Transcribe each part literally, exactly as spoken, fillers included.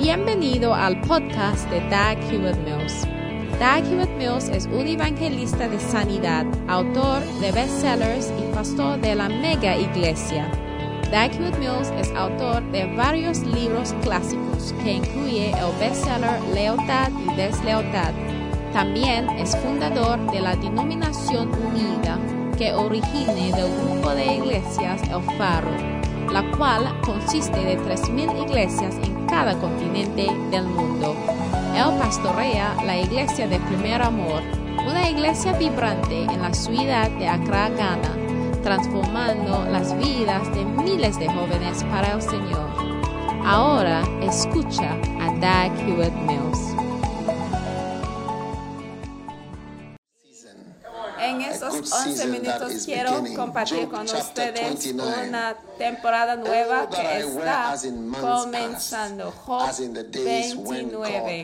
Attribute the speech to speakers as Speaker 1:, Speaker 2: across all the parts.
Speaker 1: Bienvenido al podcast de Dag Hewlett-Mills. Dag Hewlett-Mills es un evangelista de sanidad, autor de bestsellers y pastor de la mega iglesia. Dag Hewlett-Mills es autor de varios libros clásicos que incluye el bestseller Lealtad y Deslealtad. También es fundador de la Denominación Unida, que origina del grupo de iglesias El Faro, la cual consiste de tres mil iglesias en cada continente del mundo. Él pastorea la iglesia de Primer Amor, una iglesia vibrante en la ciudad de Accra, Ghana, transformando las vidas de miles de jóvenes para el Señor. Ahora escucha a Dag Hewlett-Mills.
Speaker 2: En estos once minutos quiero compartir con ustedes una temporada nueva que está comenzando. Job veintinueve.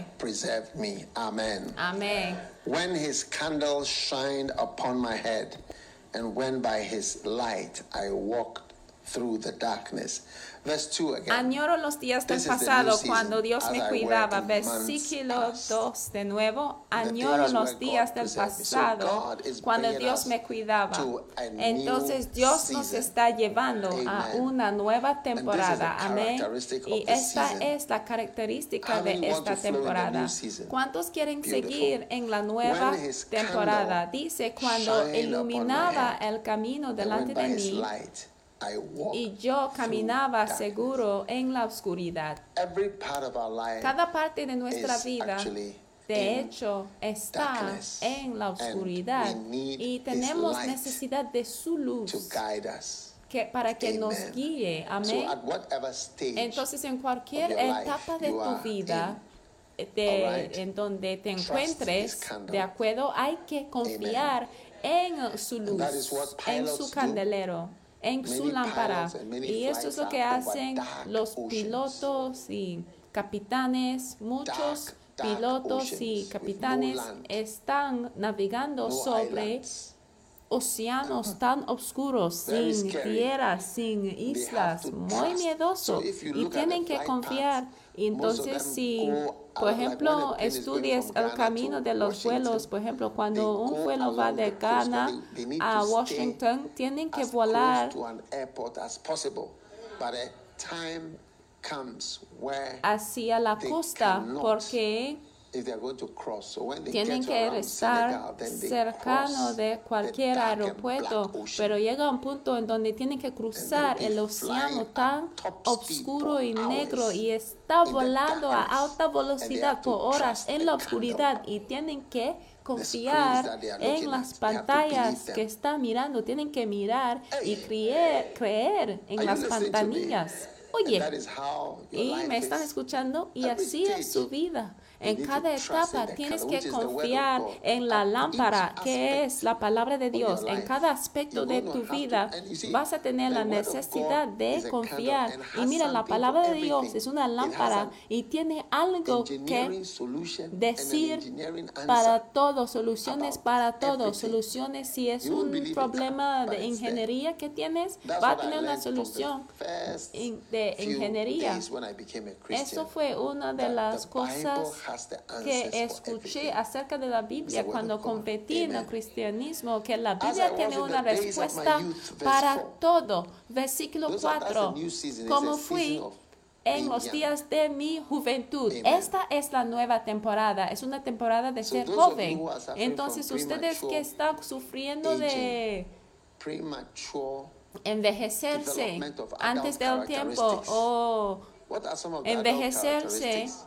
Speaker 2: Amén.
Speaker 3: When his candle shined upon my head, and when by his light I walked through the darkness. Verse two again.
Speaker 2: Añoro los días del pasado cuando Dios me cuidaba. Versículo dos de nuevo. Añoro los días del pasado cuando Dios me cuidaba. Entonces Dios nos está llevando a una nueva temporada. Amén. Y esta es la característica de esta temporada. ¿Cuántos quieren seguir en la nueva temporada? Dice, cuando iluminaba el camino delante de mí, y yo caminaba seguro en la oscuridad. Cada parte de nuestra vida, de hecho, está en la oscuridad y tenemos necesidad de su luz que, para que nos guíe. Amén. Entonces, en cualquier etapa de tu vida, de, en donde te encuentres, de acuerdo, hay que confiar en su luz, en su candelero, en su lámpara. Y esto es lo que hacen los pilotos y capitanes. Muchos pilotos y capitanes están navegando sobre océanos tan oscuros, sin tierra, sin islas, muy miedoso, y tienen que confiar. Y entonces, si, por ejemplo, estudias el camino de los vuelos, por ejemplo, cuando un vuelo va de Ghana a Washington, tienen que volar hacia la costa, porque tienen que estar cercano de cualquier aeropuerto, pero llega un punto en donde tienen que cruzar el océano tan oscuro y negro y está volando a alta velocidad por horas en la oscuridad y tienen que confiar en las pantallas que están mirando, tienen que mirar y creer, creer en las pantallas. Oye, y me están escuchando, y así es su vida. En cada etapa tienes que confiar en la lámpara, que es la palabra de Dios. En cada aspecto de tu vida vas a tener la necesidad de confiar. Y mira, la palabra de Dios es una lámpara y tiene algo que decir para todo, soluciones para todo. Soluciones, si es un problema de ingeniería que tienes, va a tener una solución de ingeniería. Eso fue una de las cosas que escuché acerca de la Biblia cuando competí en el cristianismo, que la Biblia tiene una respuesta para todo. Versículo cuatro, como fui en los días de mi juventud. Esta es la nueva temporada, es una temporada de ser joven. Entonces, ustedes que están sufriendo de envejecerse antes del tiempo o envejecerse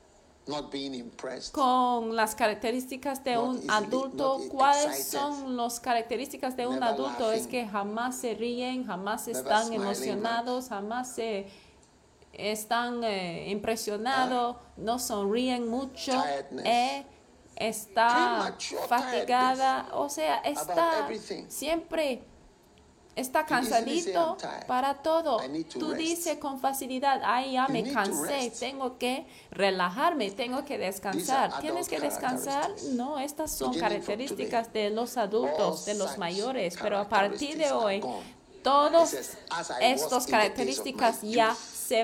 Speaker 2: con las características de un adulto. ¿Cuáles son las características de un adulto? Es que jamás se ríen, jamás están emocionados, jamás se están eh, impresionados, no sonríen mucho, eh, está fatigada, o sea, está siempre está cansadito para todo. Tú dices con facilidad, ay, ya me cansé, tengo que relajarme, tengo que descansar. ¿Tienes que descansar? No, estas son características de los adultos, de los mayores, pero a partir de hoy, todas estas características ya se van.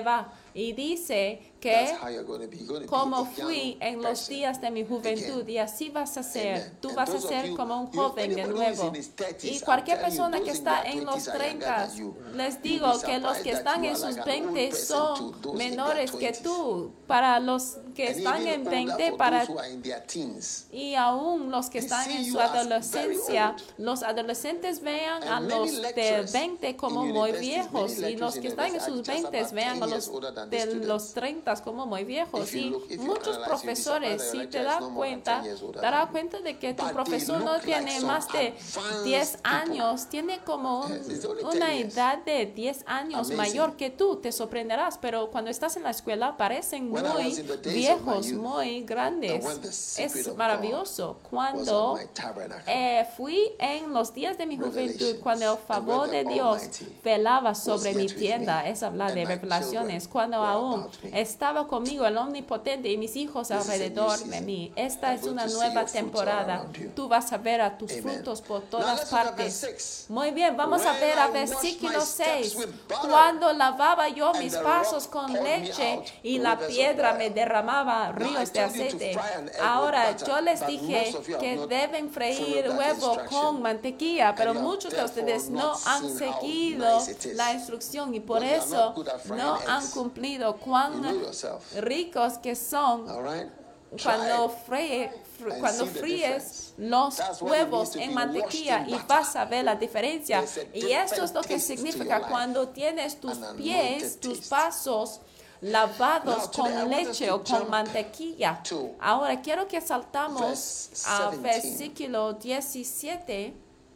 Speaker 2: Y dice que como fui en los días de mi juventud, y así vas a ser. Tú vas a ser como un joven de nuevo. Y cualquier persona que está en los treinta, les digo que los que están en sus veinte son menores que tú. Para los que están en veinte, para y aún los que están en su adolescencia, los adolescentes vean a los de veinte como muy viejos, y los que están en sus veinte vean a los de los treinta como muy viejos. Y muchos profesores, si te das cuenta, te darás cuenta de que tu profesor no tiene más de diez años, tiene como un, una edad de diez años mayor que tú. Te sorprenderás, pero cuando estás en la escuela parecen muy viejos, muy grandes. Es maravilloso. Cuando eh, fui en los días de mi juventud, cuando el favor de Dios velaba sobre mi tienda, es hablar de revelaciones, cuando aún estaba conmigo el Omnipotente y mis hijos alrededor de mí. Esta es una nueva temporada. Tú vas a ver a tus frutos por todas partes. Muy bien, vamos a ver a versículo seis. Cuando lavaba yo mis pasos con leche y la piedra me derramaba ríos de aceite. Ahora yo les dije que deben freír huevo con mantequilla, pero muchos de ustedes no han seguido la instrucción y por eso no han cumplido. Cuán ricos que son cuando fríe, cuando fríes los huevos en mantequilla, y vas a ver la diferencia. Y esto es lo que significa cuando tienes tus pies, tus pasos lavados con leche o con mantequilla. Ahora quiero que saltamos al versículo diecisiete.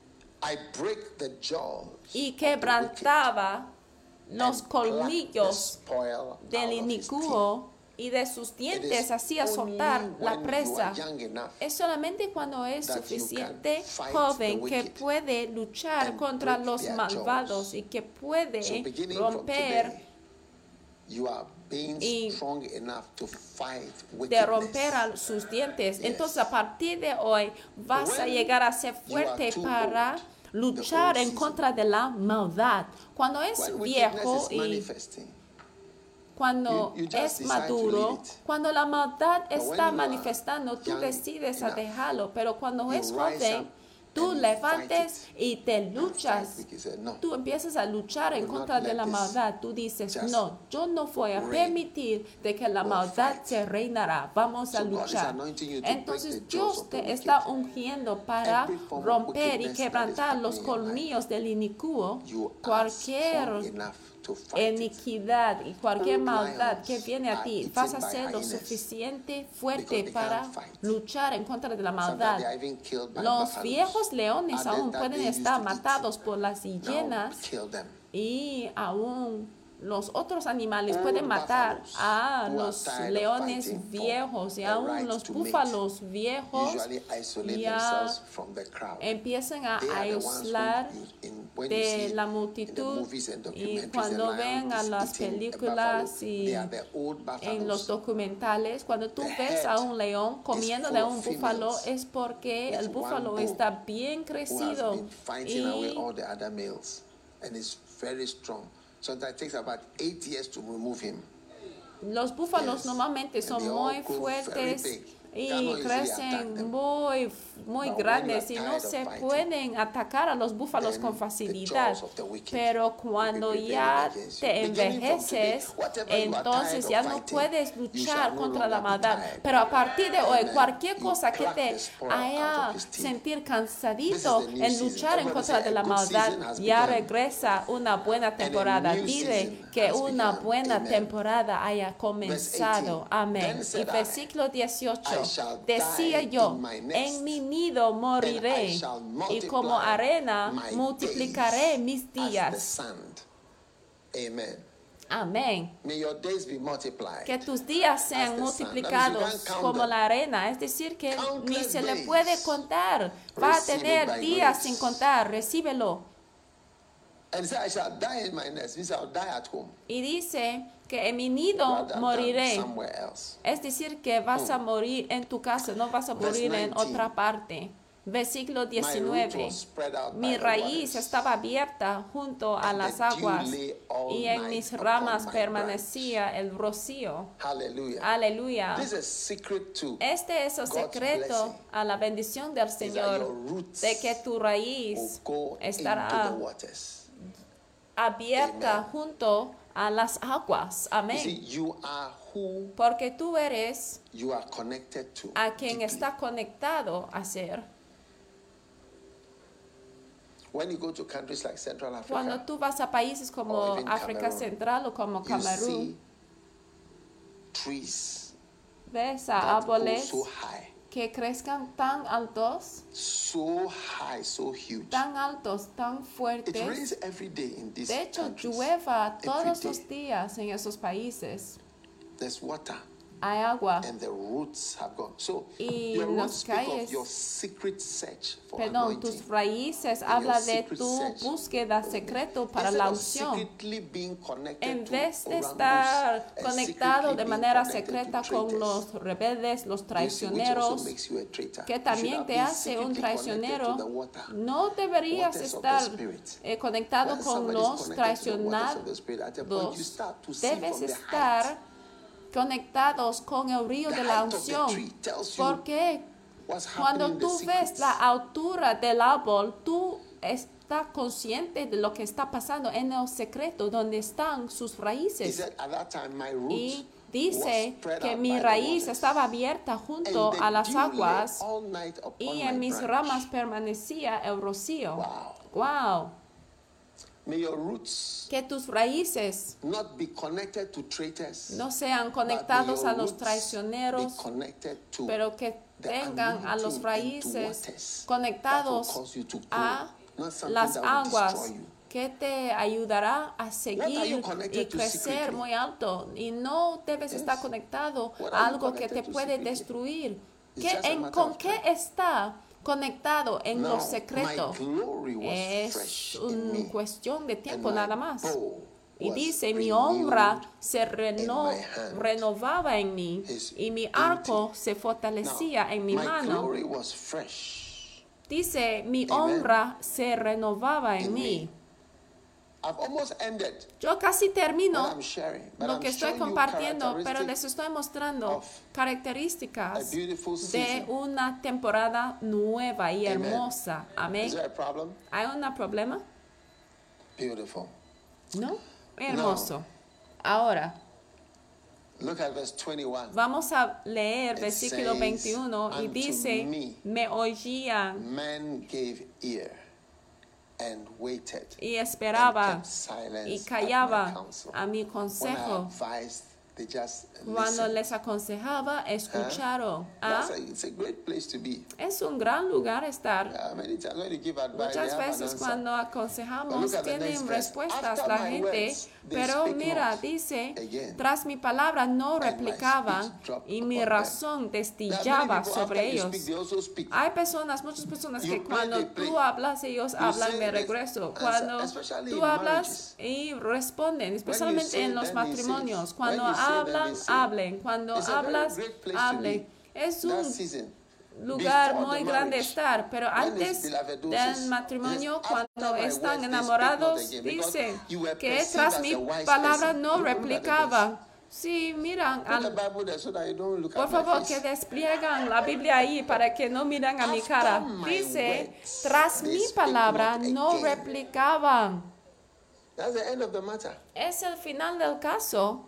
Speaker 2: Y quebrantaba los colmillos del inicuo, y de sus dientes hacía soltar la presa. Es solamente cuando es suficiente joven que puede luchar contra los malvados y que puede romper y de romper a sus dientes. Entonces a partir de hoy vas a llegar a ser fuerte para luchar en contra de la maldad. Cuando es viejo y cuando es maduro, cuando la maldad está manifestando, tú decides a dejarlo. Pero cuando es joven, tú levantes y te luchas. Tú empiezas a luchar en contra de la maldad. Tú dices, no, yo no voy a permitir de que la maldad se reinará. Vamos a luchar. Entonces Dios te está ungiendo para romper y quebrantar los colmillos del inicuo. Cualquier iniquidad y cualquier maldad que viene a ti, vas a ser lo suficiente fuerte para luchar en contra de la maldad. Los viejos leones aún pueden estar matados por las hienas, y aún los otros animales pueden matar a los leones viejos, y aún los búfalos viejos ya empiezan a aislar de la multitud. Y cuando ven a las películas y en los documentales, cuando tú ves a un león comiendo de un búfalo, es porque el búfalo está bien crecido y
Speaker 3: Sometimes it takes about eight years to remove him.
Speaker 2: Los búfalos normalmente son muy fuertes y crecen muy, muy grandes y no se pueden atacar a los búfalos con facilidad. Pero cuando ya te envejeces, entonces ya no puedes luchar contra la maldad. Pero a partir de hoy, cualquier cosa que te haga sentir cansadito en luchar en contra de la maldad, ya regresa una buena temporada. Dile que una buena temporada haya comenzado. Amén. Y versículo dieciocho. Decía yo, en mi nido moriré, y como arena multiplicaré mis días. Amén. Que tus días sean multiplicados como la arena, es decir, que ni se le puede contar. Va a tener días sin contar, recíbelo. Y dice que en mi nido moriré. Es decir, que vas a morir en tu casa, no vas a morir en otra parte. Versículo diecinueve. Mi raíz estaba abierta junto a las aguas y en mis ramas permanecía el rocío. Aleluya. Este es el secreto a la bendición del Señor, de que tu raíz estará abierta junto a las aguas. Amén. Porque tú eres a quien está conectado a ser. Cuando tú vas a países como África Central o como Camerún, ves a árboles que crezcan tan altos, tan altos, tan fuertes. De hecho, llueva todos los días en esos países. Hay agua y las calles, perdón, tus raíces habla de tu búsqueda secreto para la unción. En vez de estar conectado de manera secreta con los rebeldes, los traicioneros, que también te hace un traicionero, no deberías estar eh, conectado con los traicionados. Debes estar conectados con el río de la unción, porque cuando tú ves la altura del árbol, tú estás consciente de lo que está pasando en el secreto, donde están sus raíces. Y dice que mi raíz estaba abierta junto a las aguas y en mis ramas permanecía el rocío. Wow. Que tus raíces no sean conectados a los traicioneros, pero que tengan a los raíces conectados a las aguas, que te ayudará a seguir y crecer muy alto. Y no debes estar conectado a algo que te puede destruir. ¿Qué, en, ¿Con qué está conectado en lo secreto? Es una cuestión de tiempo nada más. Y dice, mi honra se reno, renovaba en mí y mi arco se fortalecía en mi mano. Dice, mi honra se renovaba en mí. Yo casi termino lo que estoy compartiendo, pero les estoy mostrando características de una temporada nueva y hermosa. Amén. ¿Hay un problema? No. Hermoso. Ahora, vamos a leer versículo veintiuno y dice, me oían y esperaba y callaba a mi consejo. Cuando les aconsejaba, escucharon. ¿Ah? Es un gran lugar estar. Muchas veces cuando aconsejamos tienen respuestas la gente, pero mira, dice, tras mi palabra no replicaban y mi razón destillaba sobre ellos. Hay personas, muchas personas que cuando tú hablas, ellos hablan de regreso. Cuando tú hablas y responden, especialmente en los matrimonios, cuando hablan, hablen. Cuando hablas, hablen. Es un lugar muy grande estar, pero antes del matrimonio, cuando están enamorados, dicen que tras mi palabra no replicaban. Sí, miran, al, por favor, que despliegan la Biblia ahí para que no miren a mi cara. Dice, tras mi palabra no replicaban. Es el final del caso.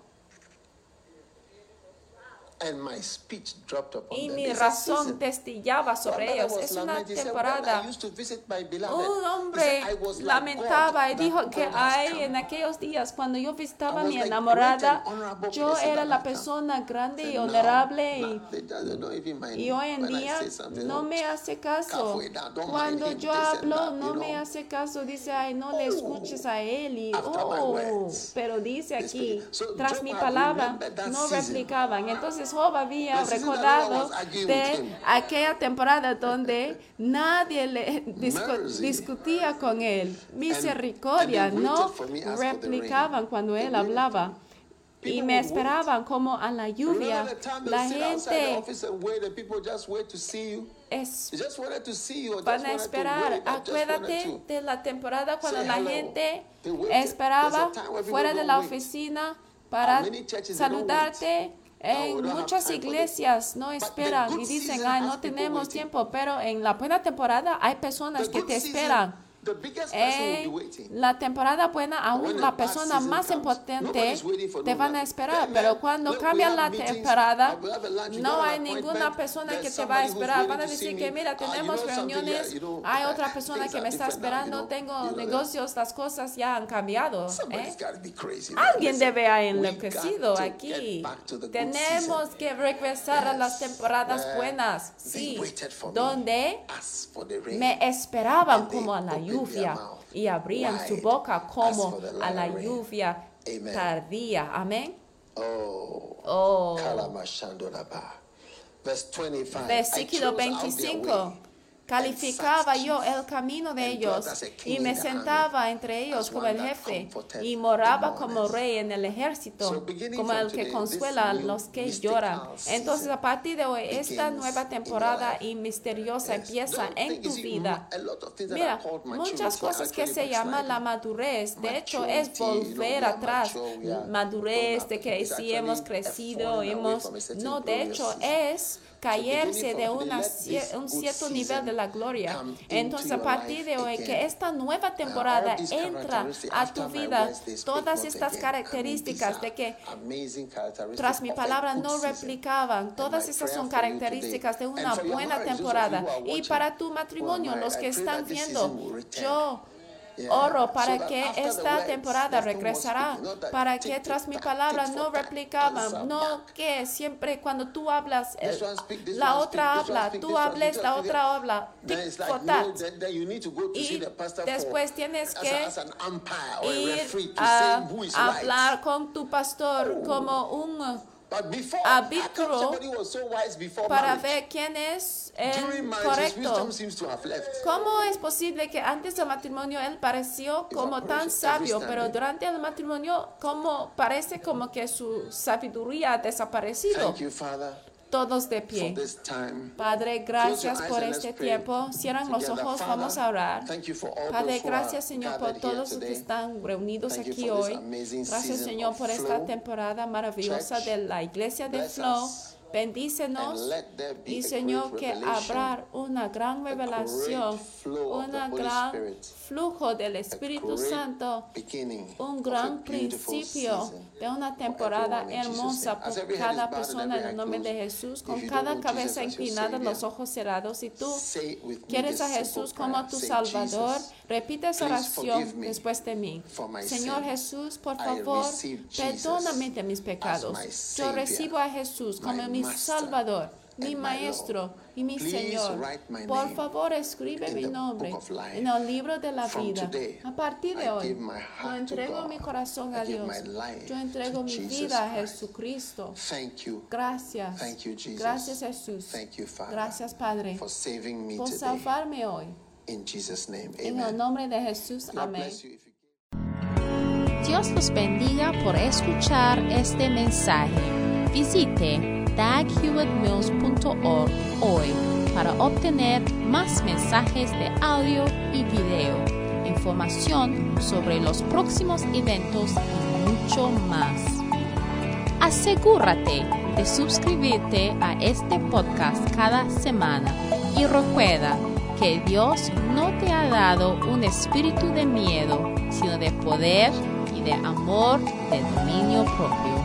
Speaker 2: Y mi razón testillaba sobre ellos. Es una temporada. Un hombre lamentaba y dijo que ay, en aquellos días cuando yo visitaba a mi enamorada, yo era la persona grande y honorable y, y hoy en día no me hace caso. Cuando yo hablo no me hace caso. Dice, ay, no le escuches a él. Y, oh, pero dice aquí, tras mi palabra no replicaban. Entonces Job había recordado de aquella temporada donde nadie le discu discutía con él. Misericordia, no replicaban cuando él hablaba. y me esperaban como a la lluvia. La gente es, van a esperar. Acuérdate de la temporada cuando la gente esperaba fuera de la oficina para saludarte. En muchas iglesias no esperan y dicen, ay, no tenemos tiempo, pero en la buena temporada hay personas que te esperan. En la temporada buena, aún la persona más importante te van a esperar, pero cuando cambia la temporada, no hay ninguna persona que te va a esperar. Van a decir que, mira, tenemos reuniones, hay otra persona que me está esperando, tengo negocios, las cosas ya han cambiado. ¿eh? Alguien debe haber enloquecido aquí. Tenemos que regresar a las temporadas buenas, sí, donde me esperaban como a la lluvia y abrían su boca como a la lluvia tardía. Amén. Oh. Versículo veinticinco. Calificaba yo el camino de ellos y me sentaba entre ellos como el jefe y moraba como rey en el ejército, como el que consuela a los que lloran. Entonces, a partir de hoy, esta nueva temporada y misteriosa empieza en tu vida. Mira, muchas cosas que se llaman la madurez, de hecho, es volver atrás. Madurez de que sí hemos crecido, hemos... No, de hecho, es... caerse de una, un cierto nivel de la gloria. Entonces, a partir de hoy, que esta nueva temporada entra a tu vida, todas estas características de que tras mi palabra no replicaban, todas estas son características de una buena temporada. Y para tu matrimonio, los que están viendo, yo oro para que esta temporada regresará, para que tras mi palabra no replicaban, no que siempre cuando tú hablas, el, la otra habla, tú hables, la otra habla, tic for tat. Y después tienes que ir a hablar con tu pastor como un árbitro para ver quién es el correcto. ¿Cómo es posible que antes del matrimonio él pareció como tan sabio, pero durante el matrimonio como parece como que su sabiduría ha desaparecido? Todos de pie. Padre, gracias por este tiempo. Cierran los ojos, vamos a orar. Padre, gracias, Señor, por todos los que están reunidos aquí hoy. Gracias, Señor, por esta temporada maravillosa de la iglesia de Flow. Bendícenos y, Señor, que habrá una gran revelación, un gran flujo del Espíritu Santo, un gran principio de una temporada hermosa por cada persona en el nombre de Jesús, con cada cabeza inclinada, los ojos cerrados. Si tú quieres a Jesús como tu Salvador, repite esa oración después de mí. Señor Jesús, por favor, perdóname de mis pecados. Yo recibo a Jesús como mi Salvador, mi Maestro y mi Señor. Por favor, escribe mi nombre en el libro de la vida. A partir de hoy, yo entrego mi corazón a Dios. Yo entrego mi vida a Jesucristo. Gracias. Gracias, Jesús. Gracias, Padre, por salvarme hoy. En el nombre de Jesús. Amén.
Speaker 1: Dios los bendiga por escuchar este mensaje. Visite dag hewitt mills punto org hoy para obtener más mensajes de audio y video, información sobre los próximos eventos y mucho más. Asegúrate de suscribirte a este podcast cada semana y recuerda que Dios no te ha dado un espíritu de miedo, sino de poder y de amor, de dominio propio.